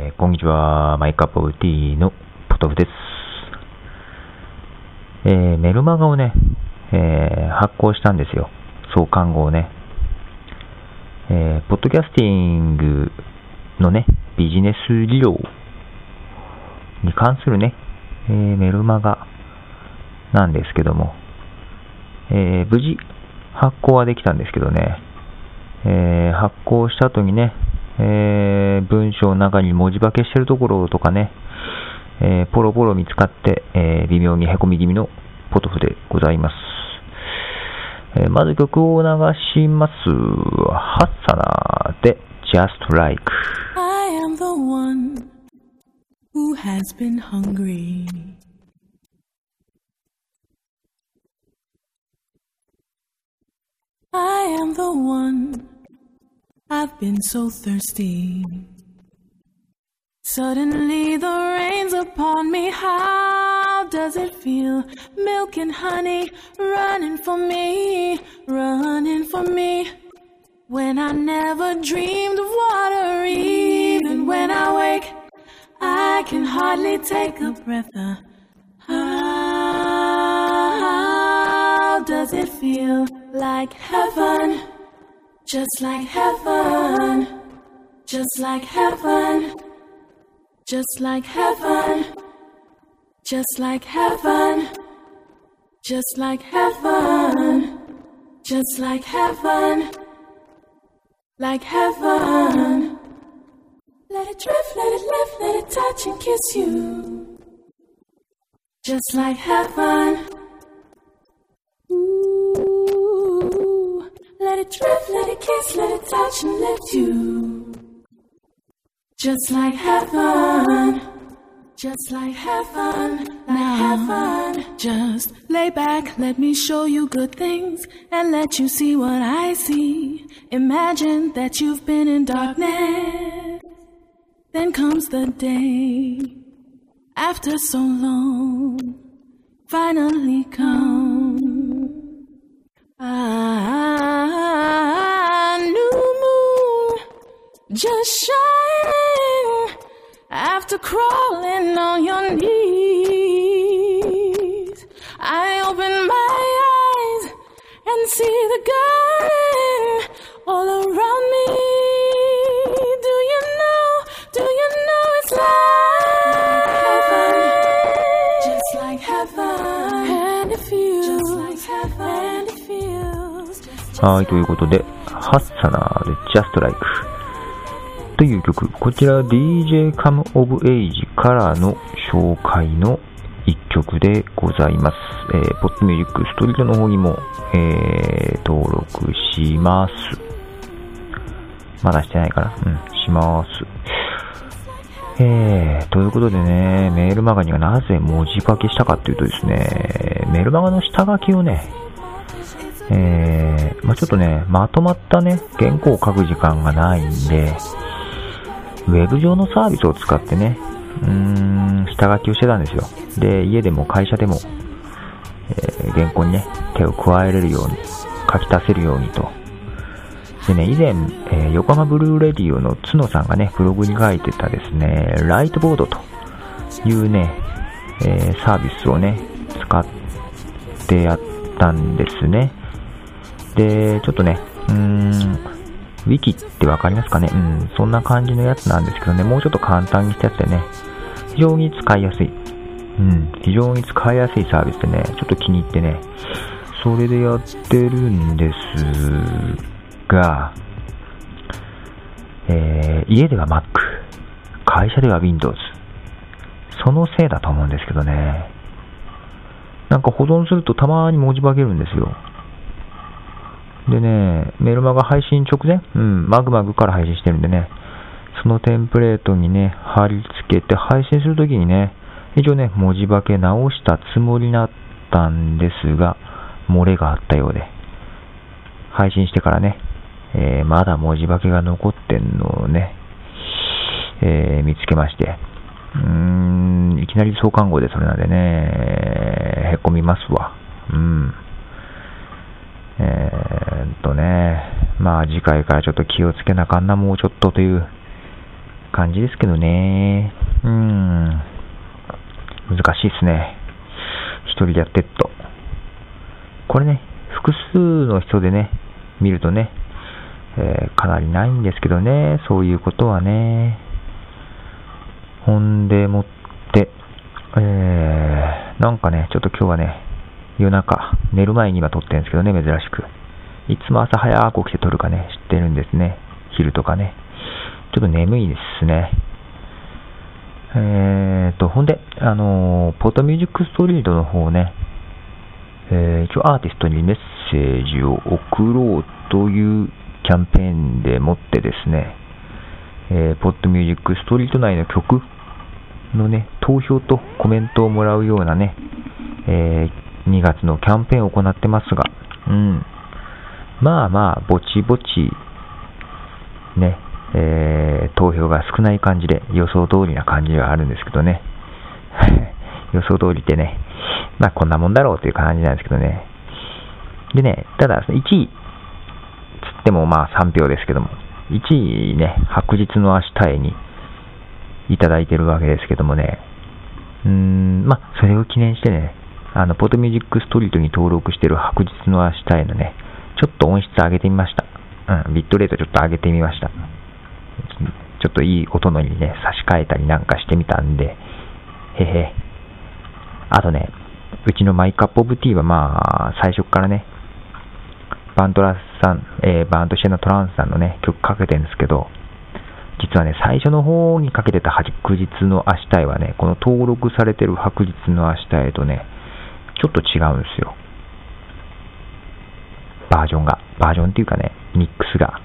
こんにちは。マイカップオブティーのポトフです。メルマガをね、発行したんですよ。創刊号をね。ポッドキャスティングのね、ビジネス理論に関するね、メルマガなんですけども、無事発行はできたんですけどね、発行した後にね、文章の中に文字化けしてるところとかね、ポロポロ見つかって、微妙にへこみ気味のポトフでございます。まず曲を流します。ハッサナーで Just Like I am the one who has been hungry. I am the one I've been so thirsty. Suddenly the rain's upon me. How does it feel? Milk and honey running for me, running for me. When I never dreamed of water, even when I wake, I can hardly take a breath. How does it feel? Like heaven, just like heaven, just like heaven, just like heaven, just like heaven, just like heaven, just like heaven, like heaven. Let it drift, let it lift, let it touch and kiss you, just like heaven. Let it drift, let it kiss, let it touch and lift you, just like heaven, just like heaven, like heaven. Just lay back, let me show you good things and let you see what I see. Imagine that you've been in darkness, then comes the day, after so long, finally come. New moon just shining after crawling on your knees. I open my eyes and see the garden all around me. Do you know it's like heaven, just like heaven, and it feels just like heaven, and it feels. はい、ということで、ハッサナーで Just Like という曲、こちら DJ Come of Age からの紹介の一曲でございます。ポッドミュージックストリートの方にも、登録します。まだしてないかな？します。ということでね、メールマガにはなぜ文字化けしたかというとですね、メールマガの下書きをね、ちょっとね、まとまったね、原稿を書く時間がないんで、ウェブ上のサービスを使ってね、下書きをしてたんですよ。で、家でも会社でも、原稿にね、手を加えれるように、書き足せるようにと。でね、以前、横浜ブルーレディオの角さんがね、ブログに書いてたですね、ライトボードというね、サービスをね、使ってやったんですね。で、ちょっとね、ウィキってわかりますかね？そんな感じのやつなんですけどね、もうちょっと簡単にしたやつでね、非常に使いやすい。非常に使いやすいサービスでね、ちょっと気に入ってね、それでやってるんですが、家では Mac、会社では Windows、そのせいだと思うんですけどね、なんか保存するとたまに文字化けるんですよ。でね、メルマガ配信直前、マグマグから配信してるんでね、そのテンプレートにね、貼り付けて配信するときにね、一応ね、文字化け直したつもりだったんですが、漏れがあったようで、配信してからね、まだ文字化けが残ってんのをね、見つけまして、いきなり創刊号でそれなんでね、へこみますわ。まあ次回からちょっと気をつけなあかんな、もうちょっとという感じですけどね。難しいですね。一人でやってっと。これね、複数の人でね、見るとね、かなりないんですけどね、そういうことはね。ほんでもって、なんかね、ちょっと今日はね、夜中、寝る前に今撮ってるんですけどね、珍しく。いつも朝早く起きて撮るかね、知ってるんですね。昼とかね。ちょっと眠いですね。ほんで、ポッドミュージックストリートの方ね、一応アーティストにメッセージを送ろうというキャンペーンでもってですね、ポッドミュージックストリート内の曲のね、投票とコメントをもらうようなね、2月のキャンペーンを行ってますが、まあまあ、ぼちぼち、ね、投票が少ない感じで予想通りな感じはあるんですけどね。予想通りってね、まあこんなもんだろうという感じなんですけどね。でね、ただ1位つってもまあ3票ですけども、1位ね、白日の明日へにいただいてるわけですけどもね、まあそれを記念してね、ポッドミュージックストリートに登録してる白日の明日へのね、ちょっと音質上げてみました。ビットレートちょっと上げてみました。ちょっといい音のにね、差し替えたりなんかしてみたんで、あとね、うちのマイカップオブティーはまあ、最初からね、バントシェナトランスさんのね、曲かけてるんですけど、実はね、最初の方にかけてた白日の明日へはね、この登録されてる白日の明日へとね、ちょっと違うんですよ。バージョンっていうかね、ミックスが。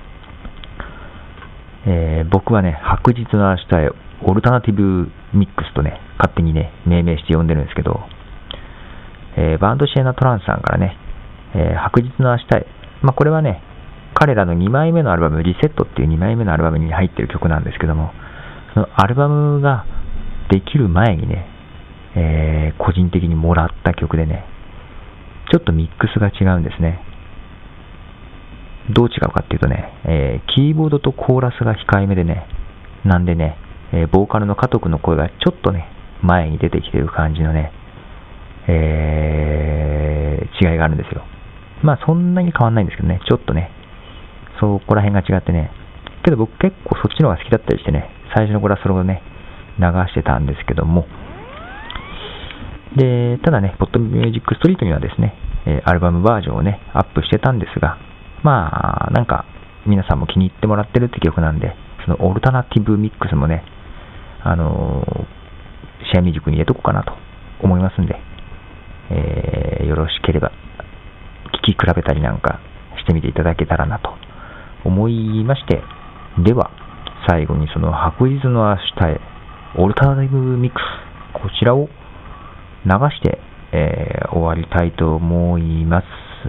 僕はね、白日の明日へオルタナティブミックスとね、勝手にね、命名して呼んでるんですけど、バンドシエナトランスさんからね、白日の明日へ、まあこれはね、彼らの2枚目のアルバム、リセットっていう2枚目のアルバムに入ってる曲なんですけども、そのアルバムができる前にね、個人的にもらった曲でね、ちょっとミックスが違うんですね。どう違うかっていうとね、キーボードとコーラスが控えめでね、なんでね、ボーカルの加藤君の声がちょっとね、前に出てきてる感じのね、違いがあるんですよ。まあそんなに変わんないんですけどね、ちょっとね、そこら辺が違ってね、けど僕結構そっちの方が好きだったりしてね、最初の頃はそれをね、流してたんですけども、で、ただね、ポッドミュージックストリートにはですね、アルバムバージョンをね、アップしてたんですが、まあ、なんか、皆さんも気に入ってもらってるって曲なんで、そのオルタナティブミックスもね、シェアミュージックに入れとこうかなと思いますんで、よろしければ、聴き比べたりなんかしてみていただけたらなと思いまして、では、最後にその白日の明日へ、オルタナティブミックス、こちらを流して、終わりたいと思います。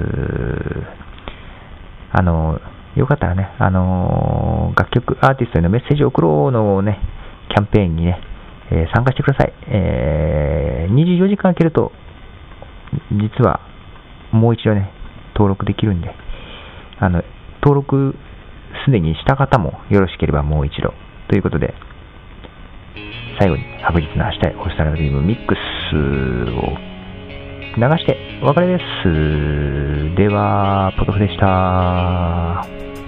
よかったらね、楽曲アーティストへのメッセージを送ろうのね、キャンペーンにね、参加してください。24時間空けると、実はもう一度ね、登録できるんで、登録すでにした方もよろしければもう一度。ということで、最後に白日の明日へオルタナティブミックスを流してお別れです。では、ポトフでした。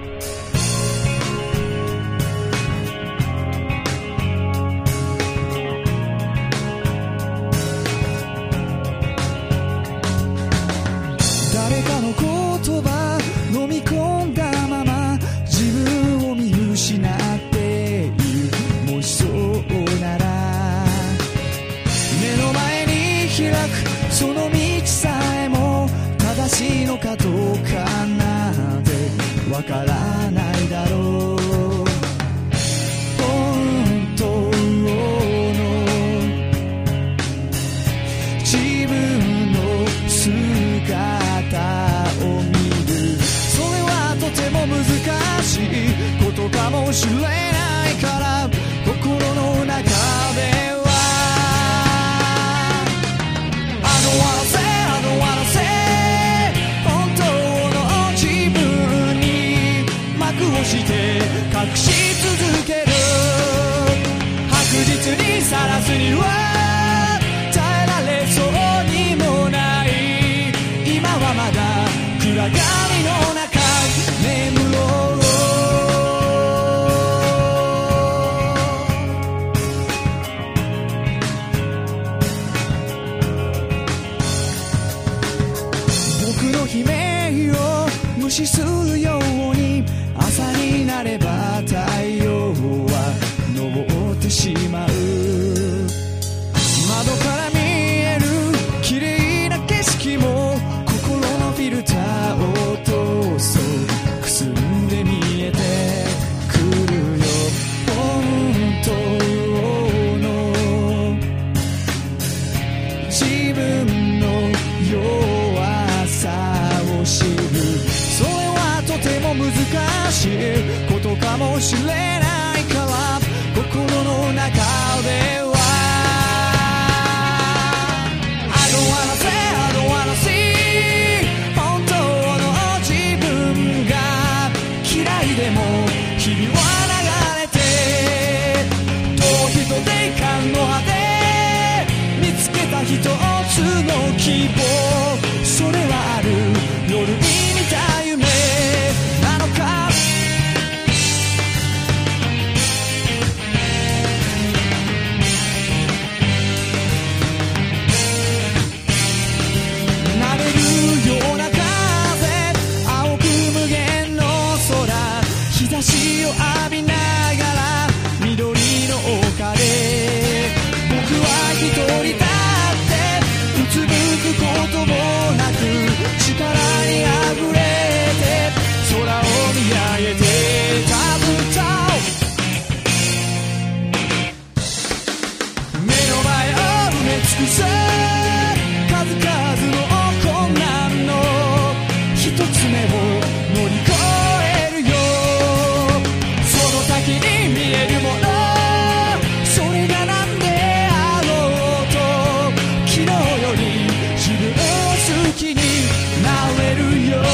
誰かの言葉飲み込んだまま自分を見失っている。もしそうなら目の前に開くその道さえも正しいのかどうかなんてわからないだろう。本当の自分の姿を見る。それはとても難しいことかもしれないから心の中ではして隠し続ける。 視するように朝になれば太陽は昇ってしまう。窓から見える綺麗な景色も心のフィルターを通すとくすんで見えてくるよ。本当の自分の弱さを知る、それはとても難しいことかもしれないから、心の中ではI don't wanna say, I don't wanna see 本当の自分が嫌いでも日々は流れて、遠い人で感の果て見つけた一つの希望、それはある夜に見た夢なのか。なれるような風、青く無限の空、日差しを浴びながら緑の丘で僕は一人立ってうつむくこともなく、力にあふれて空を見上げてたぶた目の前を埋め尽くす数々の困難の一つ目を乗り越えるよ。その先に見えるもの、それが何であろうと昨日より自分を好きになれるよ、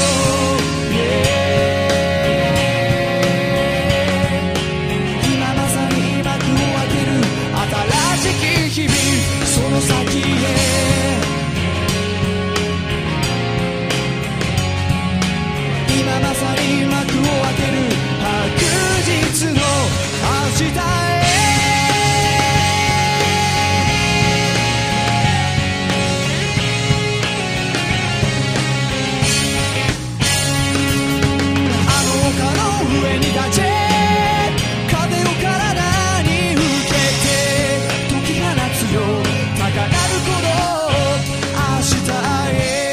今まさに幕を開ける新しき日々、その先へ今まさに幕を開ける白日の明日へ。あの丘の上に立ち風を体に受けて解き放つよ高鳴る鼓動、明日へ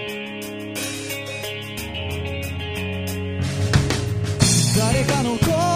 誰かの声